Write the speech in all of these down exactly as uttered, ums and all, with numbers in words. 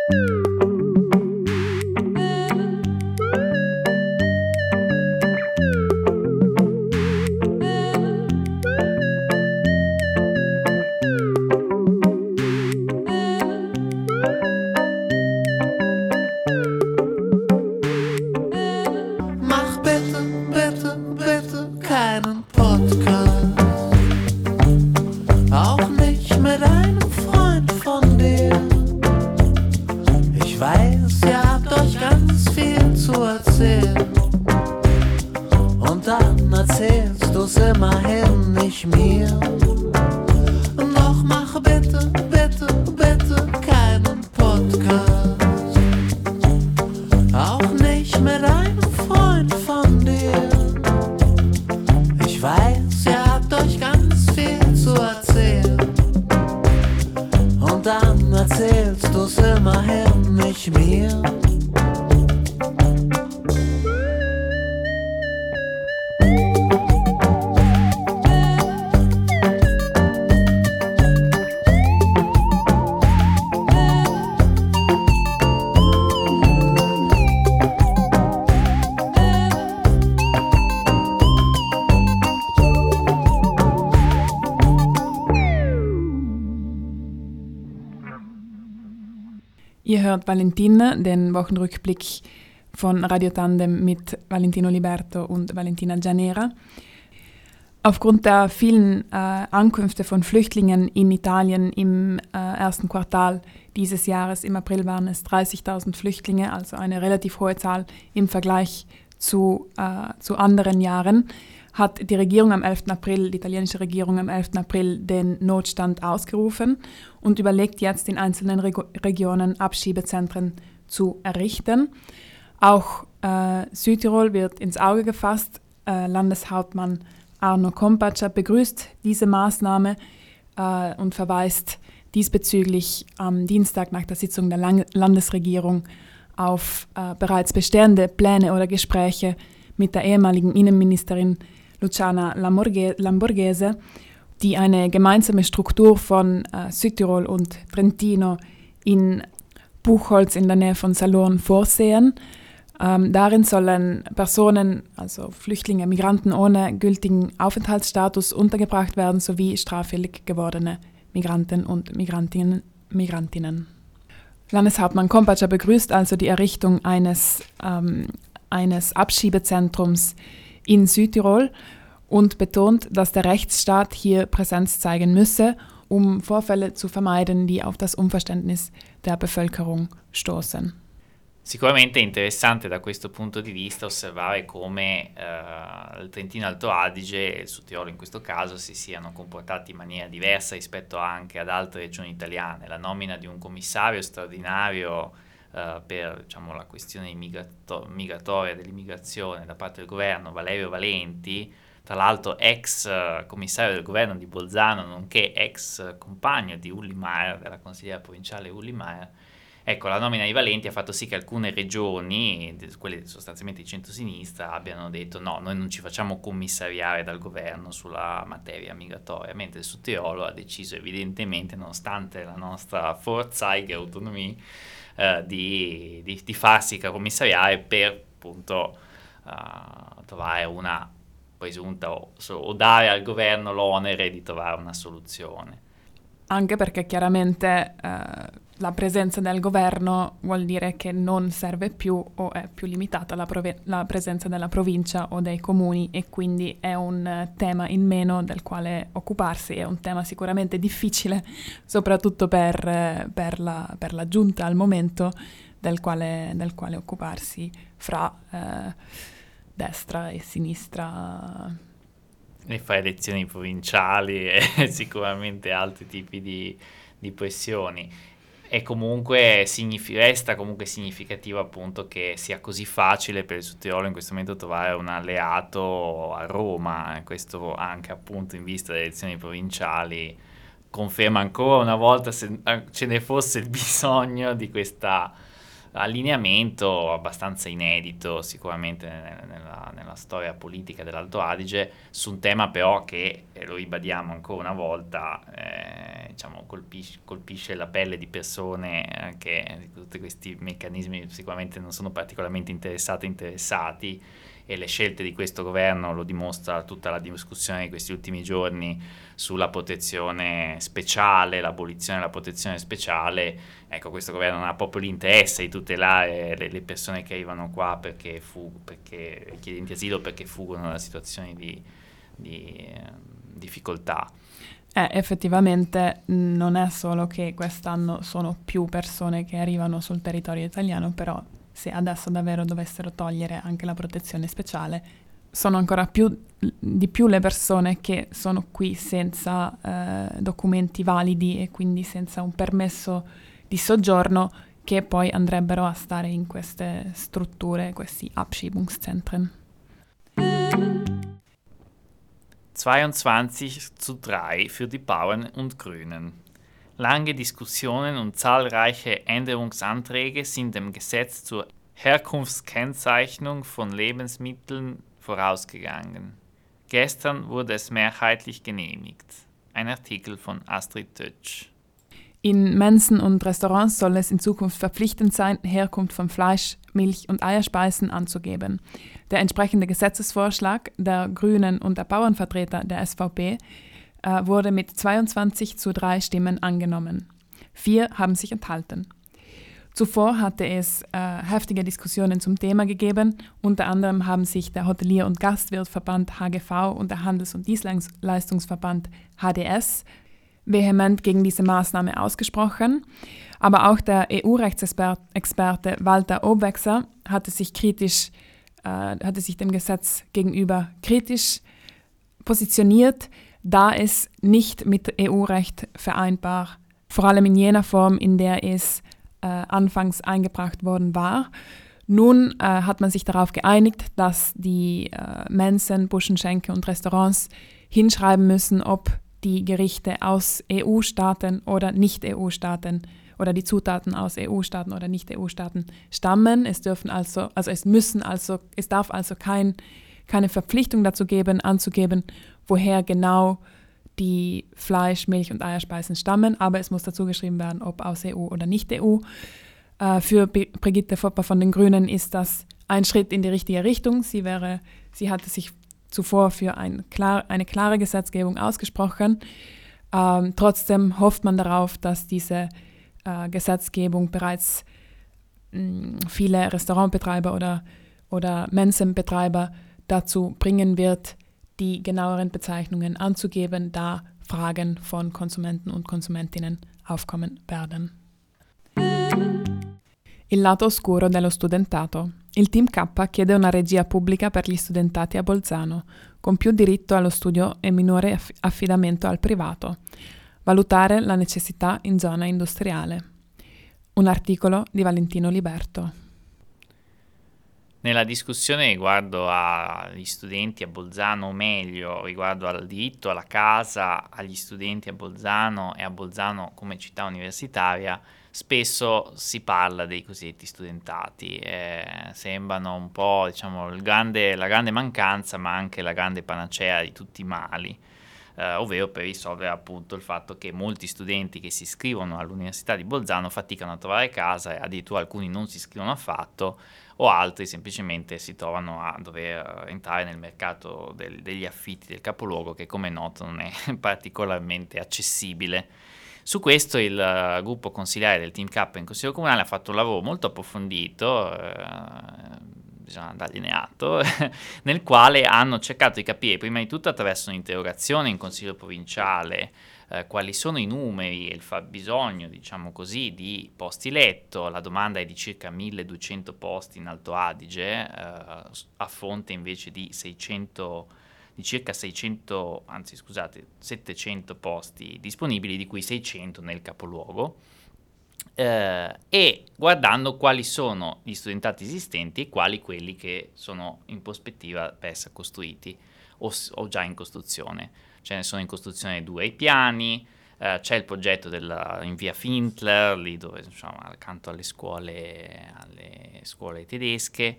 Ihr hört Valentin, den Wochenrückblick von Radio Tandem mit Valentino Liberto und Valentina Gianera. Aufgrund der vielen äh, Ankünfte von Flüchtlingen in Italien im äh, ersten Quartal dieses Jahres, im April waren es dreißigtausend Flüchtlinge, also eine relativ hohe Zahl im Vergleich zu, äh, zu anderen Jahren, hat die Regierung am elften April, die italienische Regierung am elften April den Notstand ausgerufen und überlegt jetzt in einzelnen Reg- Regionen Abschiebezentren zu errichten. Auch äh, Südtirol wird ins Auge gefasst. Äh, Landeshauptmann Arno Kompatscher begrüßt diese Maßnahme äh, und verweist diesbezüglich am Dienstag nach der Sitzung der Lang- Landesregierung auf äh, bereits bestehende Pläne oder Gespräche mit der ehemaligen Innenministerin Luciana Lamborghese, die eine gemeinsame Struktur von äh, Südtirol und Trentino in Buchholz in der Nähe von Salurn vorsehen. Ähm, darin sollen Personen, also Flüchtlinge, Migranten ohne gültigen Aufenthaltsstatus untergebracht werden, sowie straffällig gewordene Migranten und Migrantinnen. Migrantinnen. Landeshauptmann Kompatscher begrüßt also die Errichtung eines, ähm, eines Abschiebezentrums in Südtirol und betont, dass der Rechtsstaat hier Präsenz zeigen müsse, um Vorfälle zu vermeiden, die auf das Unverständnis der Bevölkerung stoßen. Sicuramente è interessante da questo punto di vista osservare come eh, il Trentino Alto Adige e il Sud-Tirolo in questo caso si siano comportati in maniera diversa rispetto anche ad altre regioni italiane. La nomina di un commissario straordinario eh, per diciamo, la questione migrato- migratoria dell'immigrazione da parte del governo, Valerio Valenti, tra l'altro ex eh, commissario del governo di Bolzano, nonché ex compagno di Ulli Maier, della consigliera provinciale Ulli Maier. Ecco, la nomina di Valenti ha fatto sì che alcune regioni, quelle sostanzialmente di centrosinistra, abbiano detto no, noi non ci facciamo commissariare dal governo sulla materia migratoria, mentre il Sud-Tirolo ha deciso evidentemente, nonostante la nostra Vorzeige autonomia, eh, di, di, di farsi commissariare per appunto uh, trovare una presunta o, o dare al governo l'onere di trovare una soluzione. Anche perché chiaramente eh, la presenza del governo vuol dire che non serve più o è più limitata la, prove- la presenza della provincia o dei comuni e quindi è un uh, tema in meno del quale occuparsi, è un tema sicuramente difficile, soprattutto per, uh, per, la, per la giunta al momento del quale, del quale occuparsi fra uh, destra e sinistra. E fa elezioni provinciali e sicuramente altri tipi di, di pressioni. E comunque signifi- resta comunque significativo appunto che sia così facile per il Sud-Tirolo in questo momento trovare un alleato a Roma, e questo anche appunto in vista delle elezioni provinciali conferma ancora una volta, se ce ne fosse il bisogno, di questa allineamento abbastanza inedito sicuramente nella, nella storia politica dell'Alto Adige, su un tema però che, eh, lo ribadiamo ancora una volta, eh, diciamo, colpisce, colpisce la pelle di persone eh, che di tutti questi meccanismi sicuramente non sono particolarmente interessate interessati, e le scelte di questo governo lo dimostra tutta la discussione di questi ultimi giorni sulla protezione speciale, l'abolizione della protezione speciale. Ecco, questo governo non ha proprio l'interesse di tutelare le, le persone che arrivano qua perché, fu, perché richiedenti asilo, perché fuggono da situazioni di, di eh, difficoltà. Eh, effettivamente non è solo che quest'anno sono più persone che arrivano sul territorio italiano, però se adesso davvero dovessero togliere anche la protezione speciale, sono ancora più, di più le persone che sono qui senza eh, documenti validi e quindi senza un permesso di soggiorno, che poi andrebbero a stare in queste strutture, questi Abschiebungszentren. zweiundzwanzig zu drei für die Bauern und Grünen. Lange Diskussionen und zahlreiche Änderungsanträge sind dem Gesetz zur Herkunftskennzeichnung von Lebensmitteln vorausgegangen. Gestern wurde es mehrheitlich genehmigt. Ein Artikel von Astrid Tötsch. In Mensen und Restaurants soll es in Zukunft verpflichtend sein, Herkunft von Fleisch, Milch und Eierspeisen anzugeben. Der entsprechende Gesetzesvorschlag der Grünen und der Bauernvertreter der S V P äh, wurde mit zweiundzwanzig zu drei Stimmen angenommen. Vier haben sich enthalten. Zuvor hatte es äh, heftige Diskussionen zum Thema gegeben. Unter anderem haben sich der Hotelier- und Gastwirtverband H G V und der Handels- und Dienstleistungsverband H D S vehement gegen diese Maßnahme ausgesprochen. Aber auch der E U-Rechtsexperte Walter Obwexer hatte sich kritisch, äh, hatte sich dem Gesetz gegenüber kritisch positioniert, da es nicht mit E U-Recht vereinbar, vor allem in jener Form, in der es äh, anfangs eingebracht worden war. Nun äh, hat man sich darauf geeinigt, dass die äh, Mensen, Buschenschenke und Restaurants hinschreiben müssen, ob die Gerichte aus E U-Staaten oder Nicht-E U-Staaten oder die Zutaten aus E U-Staaten oder Nicht-E U-Staaten stammen. Es dürfen also, also es müssen also, es darf also kein, keine Verpflichtung dazu geben, anzugeben, woher genau die Fleisch-, Milch- und Eierspeisen stammen, aber es muss dazu geschrieben werden, ob aus E U oder Nicht-E U. Äh, für Brigitte Fopper von den Grünen ist das ein Schritt in die richtige Richtung. Sie wäre, sie hatte sich zuvor für ein klar, eine klare Gesetzgebung ausgesprochen. Ähm, trotzdem hofft man darauf, dass diese äh, Gesetzgebung bereits mh, viele Restaurantbetreiber oder, oder Mensenbetreiber dazu bringen wird, die genaueren Bezeichnungen anzugeben, da Fragen von Konsumenten und Konsumentinnen aufkommen werden. Il lato oscuro dello studentato. Il Team K chiede una regia pubblica per gli studentati a Bolzano, con più diritto allo studio e minore aff- affidamento al privato. Valutare la necessità in zona industriale. Un articolo di Valentino Liberto. Nella discussione riguardo agli studenti a Bolzano, o meglio, riguardo al diritto alla casa agli studenti a Bolzano e a Bolzano come città universitaria, spesso si parla dei cosiddetti studentati. Eh, sembrano un po', diciamo, il grande, la grande mancanza, ma anche la grande panacea di tutti i mali. Eh, ovvero per risolvere appunto il fatto che molti studenti che si iscrivono all'Università di Bolzano faticano a trovare casa, e addirittura alcuni non si iscrivono affatto, o altri semplicemente si trovano a dover entrare nel mercato del, degli affitti del capoluogo, che come noto non è particolarmente accessibile. Su questo il uh, gruppo consiliare del Team K in Consiglio Comunale ha fatto un lavoro molto approfondito, eh, bisogna dargliene atto, nel quale hanno cercato di capire prima di tutto attraverso un'interrogazione in Consiglio Provinciale eh, quali sono i numeri e il fabbisogno, diciamo così, di posti letto. La domanda è di circa milleduecento posti in Alto Adige, eh, a fronte invece di seicento, di circa seicento, anzi scusate, settecento posti disponibili, di cui seicento nel capoluogo. Uh, e guardando quali sono gli studentati esistenti e quali quelli che sono in prospettiva per essere costruiti o, o già in costruzione. Ce ne sono in costruzione due ai piani, Uh, c'è il progetto della, in via Findler, lì dove diciamo, accanto alle scuole, alle scuole tedesche,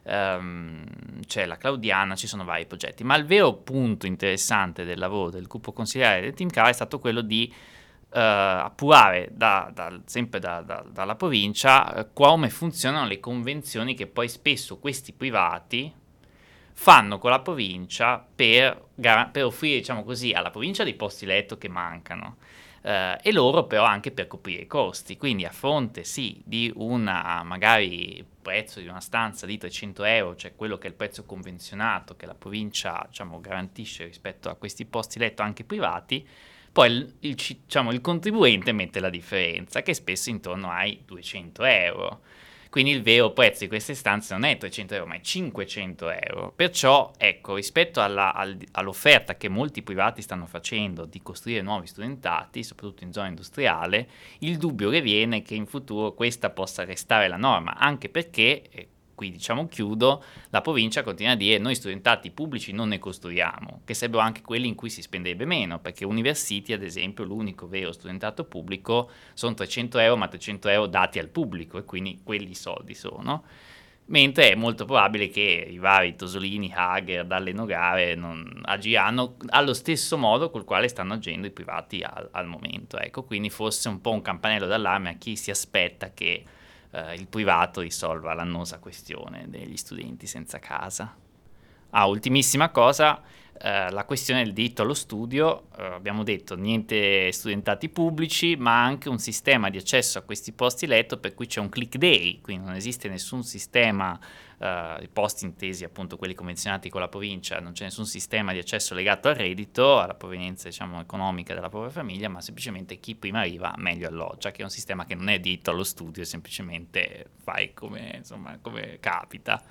um, c'è la Claudiana, ci sono vari progetti. Ma il vero punto interessante del lavoro del gruppo consiliare del Team Cara è stato quello di uh, appurare da, da, sempre da, da, dalla provincia uh, come funzionano le convenzioni che poi spesso questi privati fanno con la provincia per, per offrire, diciamo così, alla provincia dei posti letto che mancano eh, e loro però anche per coprire i costi. Quindi a fronte sì di una magari prezzo di una stanza di trecento euro, cioè quello che è il prezzo convenzionato che la provincia diciamo garantisce rispetto a questi posti letto anche privati, poi il, il, diciamo, il contribuente mette la differenza che spesso è intorno ai duecento euro. Quindi il vero prezzo di queste stanze non è trecento euro, ma è cinquecento euro. Perciò, ecco, rispetto alla, al, all'offerta che molti privati stanno facendo di costruire nuovi studentati, soprattutto in zona industriale, il dubbio che viene è che in futuro questa possa restare la norma, anche perché, e qui diciamo chiudo, la provincia continua a dire noi studentati pubblici non ne costruiamo, che sarebbero anche quelli in cui si spenderebbe meno, perché University, ad esempio, l'unico vero studentato pubblico sono trecento euro, ma trecento euro dati al pubblico, e quindi quelli soldi sono. Mentre è molto probabile che i vari Tosolini, Hager, Dalle Nogare non agiranno allo stesso modo col quale stanno agendo i privati al, al momento. Ecco, quindi forse un po' un campanello d'allarme a chi si aspetta che Uh, il privato risolva l'annosa questione degli studenti senza casa. Ah, ultimissima cosa, uh, la questione del diritto allo studio. Uh, abbiamo detto niente studentati pubblici, ma anche un sistema di accesso a questi posti letto per cui c'è un click day, quindi non esiste nessun sistema, uh, i posti intesi appunto quelli convenzionati con la provincia, non c'è nessun sistema di accesso legato al reddito, alla provenienza diciamo economica della propria famiglia, ma semplicemente chi prima arriva meglio alloggia, che è un sistema che non è diritto allo studio, semplicemente fai come, insomma, come capita.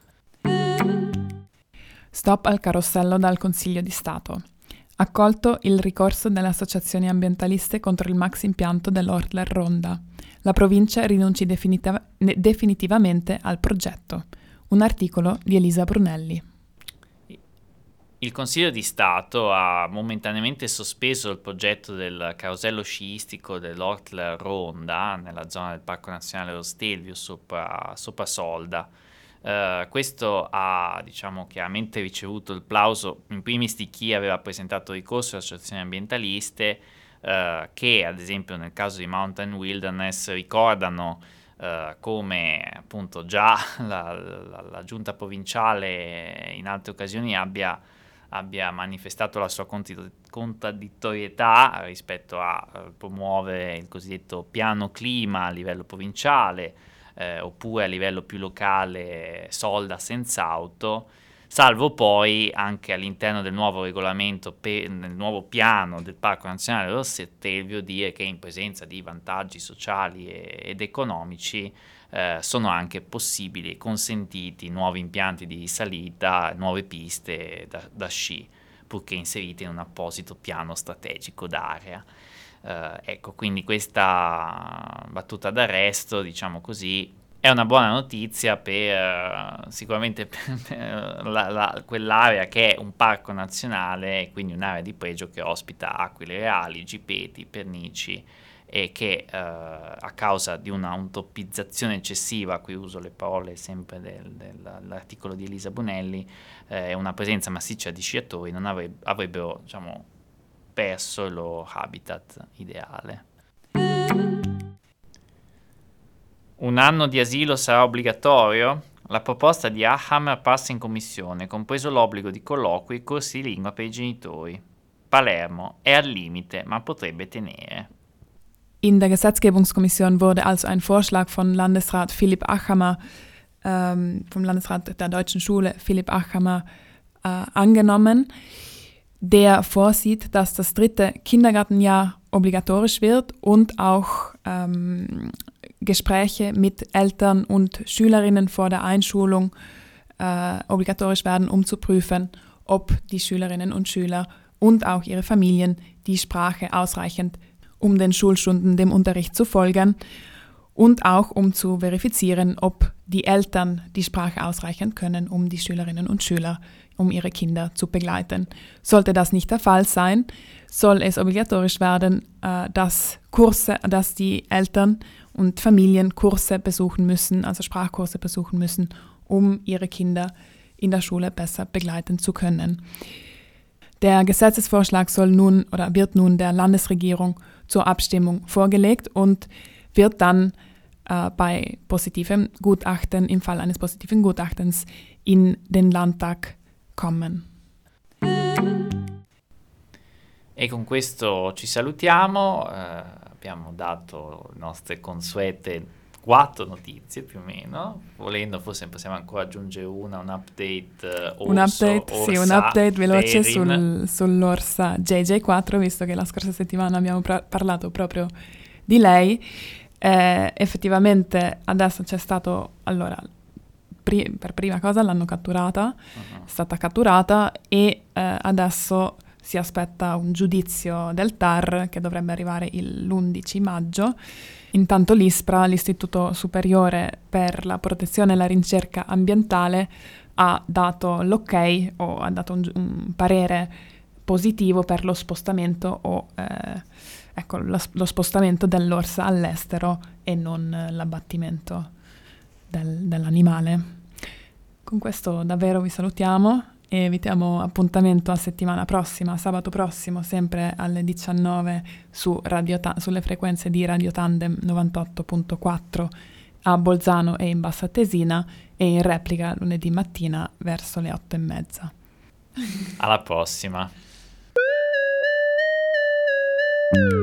Stop al carossello dal Consiglio di Stato. Accolto il ricorso delle associazioni ambientaliste contro il max impianto dell'Ortler Ronda. La provincia rinunci definitiv- definitivamente al progetto. Un articolo di Elisa Brunelli. Il Consiglio di Stato ha momentaneamente sospeso il progetto del carosello sciistico dell'Ortler Ronda nella zona del Parco Nazionale dello Stelvio sopra, sopra Solda. Uh, questo ha, diciamo, chiaramente ricevuto il plauso in primis di chi aveva presentato ricorso alle associazioni ambientaliste, uh, che ad esempio nel caso di Mountain Wilderness ricordano uh, come appunto già la, la, la giunta provinciale in altre occasioni abbia, abbia manifestato la sua contraddittorietà rispetto a uh, promuovere il cosiddetto piano clima a livello provinciale, Eh, oppure a livello più locale Solda senza auto, salvo poi anche all'interno del nuovo regolamento, per, nel nuovo piano del Parco Nazionale dello Stelvio, dire che in presenza di vantaggi sociali e, ed economici eh, sono anche possibili e consentiti nuovi impianti di salita, nuove piste da, da sci, purché inserite in un apposito piano strategico d'area. Uh, ecco, quindi questa battuta d'arresto, diciamo così, è una buona notizia per uh, sicuramente per la, la, quell'area che è un parco nazionale, quindi un'area di pregio che ospita aquile reali, gipeti, pernici, e che uh, a causa di una utopizzazione eccessiva, qui uso le parole sempre del, dell'articolo di Elisa Brunelli, eh, una presenza massiccia di sciatori non avreb- avrebbero, diciamo, perso il loro habitat ideale. Un anno di asilo sarà obbligatorio? La proposta di Ahammer passa in commissione, compreso l'obbligo di colloqui e corsi di lingua per i genitori. Palermo è al limite, ma potrebbe tenere. In der Gesetzgebungskommission wurde also ein Vorschlag von Landesrat Philipp Achamer, ähm, vom Landesrat der Deutschen Schule Philipp Achamer, äh, angenommen, der vorsieht, dass das dritte Kindergartenjahr obligatorisch wird und auch ähm, Gespräche mit Eltern und Schülerinnen vor der Einschulung äh, obligatorisch werden, um zu prüfen, ob die Schülerinnen und Schüler und auch ihre Familien die Sprache ausreichend, um den Schulstunden, dem Unterricht zu folgen und auch um zu verifizieren, ob die Eltern die Sprache ausreichend können, um die Schülerinnen und Schüler um ihre Kinder zu begleiten. Sollte das nicht der Fall sein, soll es obligatorisch werden, äh, dass Kurse, dass die Eltern und Familien Kurse besuchen müssen, also Sprachkurse besuchen müssen, um ihre Kinder in der Schule besser begleiten zu können. Der Gesetzesvorschlag soll nun oder wird nun der Landesregierung zur Abstimmung vorgelegt und wird dann äh, bei positivem Gutachten, im Fall eines positiven Gutachtens, in den Landtag kommen. E con questo ci salutiamo, eh, abbiamo dato le nostre consuete quattro notizie più o meno, volendo forse possiamo ancora aggiungere una, un update uh, orso, un update, orsa, sì, un update veloce sul, Perin. sull'orsa J J quattro, visto che la scorsa settimana abbiamo pra- parlato proprio di lei. Eh, effettivamente adesso c'è stato, allora, pri- per prima cosa l'hanno catturata, uh-huh. è stata catturata e eh, adesso si aspetta un giudizio del T A R che dovrebbe arrivare il, l'undici maggio. Intanto l'ISPRA, l'Istituto Superiore per la Protezione e la Ricerca Ambientale, ha dato l'ok o ha dato un, un parere positivo per lo spostamento o eh, ecco, lo, lo spostamento dell'orsa all'estero e non l'abbattimento del, dell'animale. Con questo davvero vi salutiamo e vi diamo appuntamento a settimana prossima, sabato prossimo, sempre alle diciannove su Radio Ta- sulle frequenze di Radio Tandem novantotto virgola quattro a Bolzano e in Bassa Atesina e in replica lunedì mattina verso le otto e mezza. Alla prossima.